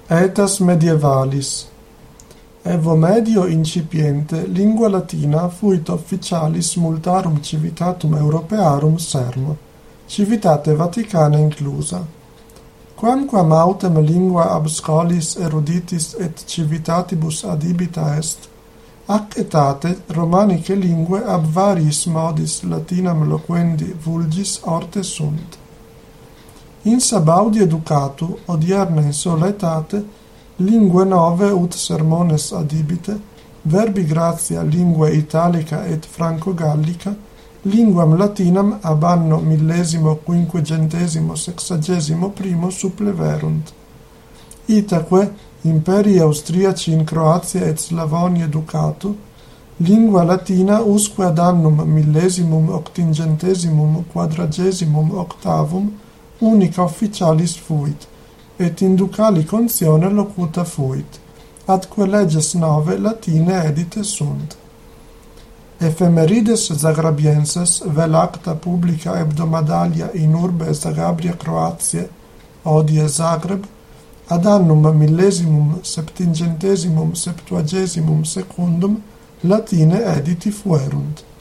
Aetas medievalis. Evo medio incipiente lingua latina fuit officialis multarum civitatum Europearum sermo, civitate Vaticana inclusa. Quamquam autem lingua ab scholis eruditis et civitatibus adibita est, ac etate Romanice lingue ab variis modis Latinam loquendi vulgis orte sunt. In sabaudi educatu, odierna in sola etate, lingue nove ut sermones adibite, verbi gratia lingue italica et franco-gallica, linguam latinam ab anno 1561 suppleverunt. Itaque, imperii austriaci in Croatia et Slavonia educatu, lingua latina usque ad annum 1848 unica officialis fuit, et in ducali contione locuta fuit, atque leges nove latine edite sunt. Ephemerides Zagrabienses vel acta publica hebdomadalia in urbe Zagabria Croatiae, odie Zagreb, ad annum 1772 latine editi fuerunt.